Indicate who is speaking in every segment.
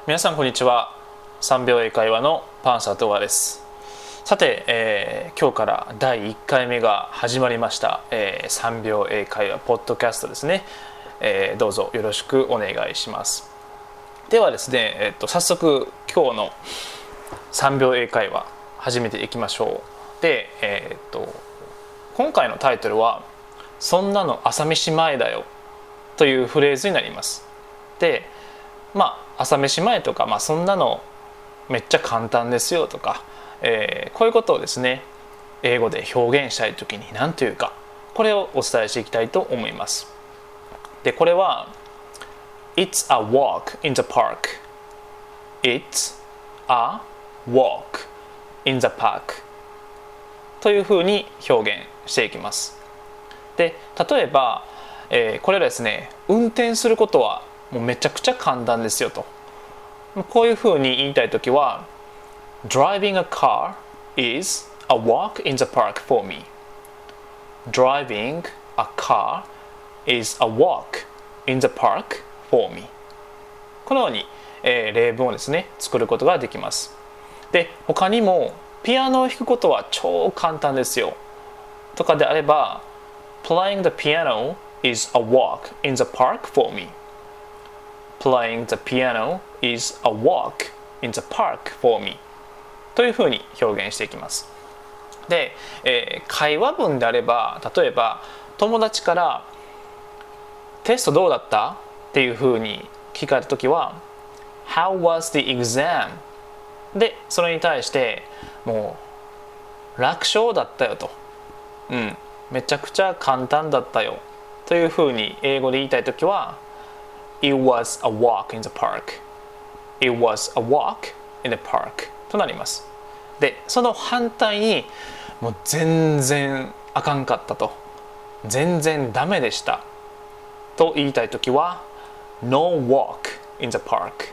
Speaker 1: 皆さんこんにちは。3秒英会話のパンサートガです。さて、今日から第1回目が始まりました、3秒英会話ポッドキャストですね、どうぞよろしくお願いします。ではですね、早速今日の3秒英会話始めていきましょう。で、今回のタイトルはそんなの朝飯前だよというフレーズになります。で、朝飯前とか、そんなのめっちゃ簡単ですよとか、こういうことをですね英語で表現したいときに何というか、これをお伝えしていきたいと思います。でこれは It's a walk in the park It's a walk in the park というふうに表現していきます。で例えば、これはですね運転することはもうめちゃくちゃ簡単ですよと、こういうふうに言いたいときは Driving a car is a walk in the park for me Driving a car is a walk in the park for me このように、例文をですね作ることができます。で他にもピアノを弾くことは超簡単ですよとかであれば Playing the piano is a walk in the park for me Playing the piano is a walk in the park for me というふうに表現していきます。で、会話文であれば例えば友達からテストどうだったっていうふうに聞かれたときは How was the exam? でそれに対してもう楽勝だったよと、めちゃくちゃ簡単だったよというふうに英語で言いたいときはIt was a walk in the park. It was a walk in the park となります。で、その反対にもう全然あかんかったと、全然ダメでしたと言いたいときは No walk in the park.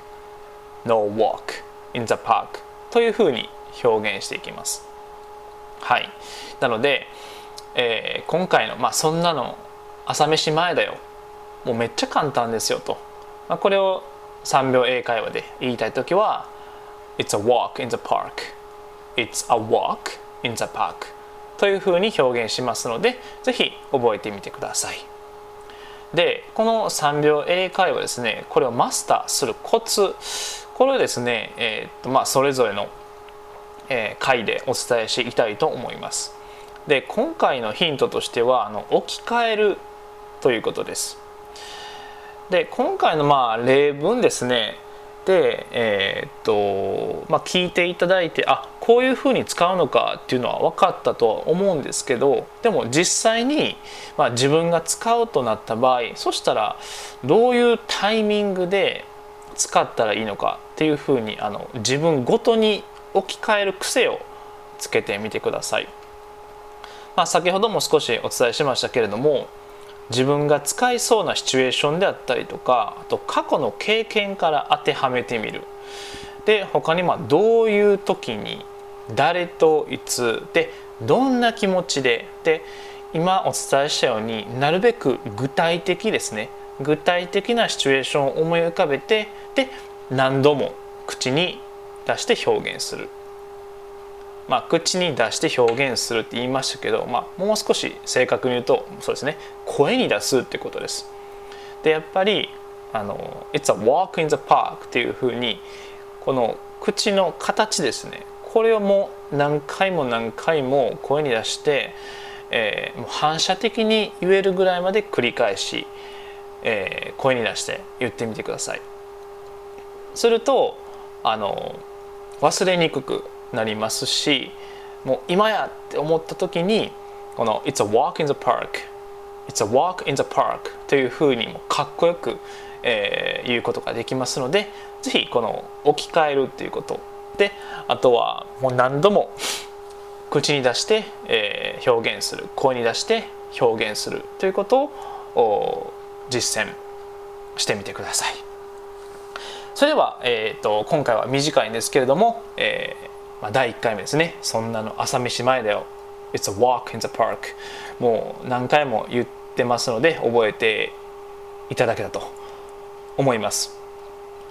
Speaker 1: No walk in the park というふうに表現していきます。はい。なので、今回のそんなの朝飯前だよ。もうめっちゃ簡単ですよと、これを3秒英会話で言いたいときは It's a walk in the park It's a walk in the park というふうに表現しますので、ぜひ覚えてみてください。でこの3秒英会話ですね、これをマスターするコツ、これをですね、それぞれの、回でお伝えしていきたいと思います。で今回のヒントとしては置き換えるということです。で今回の例文ですねで、聞いていただいてこういうふうに使うのかっていうのは分かったとは思うんですけど、でも実際に、自分が使うとなった場合、そしたらどういうタイミングで使ったらいいのかっていうふうに自分ごとに置き換える癖をつけてみてください。先ほども少しお伝えしましたけれども、自分が使いそうなシチュエーションであったりとか、あと過去の経験から当てはめてみる。で他にどういう時に誰といつでどんな気持ちで今お伝えしたようになるべく具体的ですね、具体的なシチュエーションを思い浮かべてで何度も口に出して表現する。口に出して表現するって言いましたけど、もう少し正確に言うとそうですね、声に出すっていうことです。でやっぱりIt's a walk in the park っていうふうにこの口の形ですね、これをもう何回も何回も声に出して、もう反射的に言えるぐらいまで繰り返し、声に出して言ってみてください。すると忘れにくくなりますし、もう今やって思った時にこの It's a walk in the park It's a walk in the park というふうにもかっこよく、言うことができますので、ぜひこの置き換えるっていうことで、あとはもう何度も口に出して、表現する、声に出して表現するということを実践してみてください。それでは、今回は短いんですけれども、第1回目ですね、そんなの朝飯前だよ It's a walk in the park もう何回も言ってますので覚えていただけたと思います。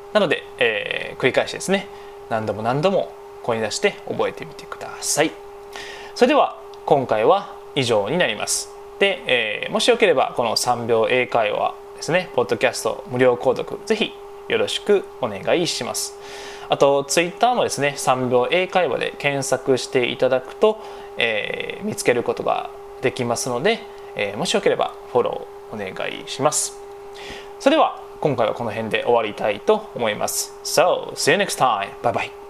Speaker 1: なので、繰り返しですね、何度も何度も声に出して覚えてみてください。それでは今回は以上になります。で、もしよければこの3秒英会話ですね、ポッドキャスト無料購読ぜひよろしくお願いします。あとツイッターもですね、3秒英会話で検索していただくと、見つけることができますので、もしよければフォローお願いします。それでは今回はこの辺で終わりたいと思います。So, see you next time. Bye bye.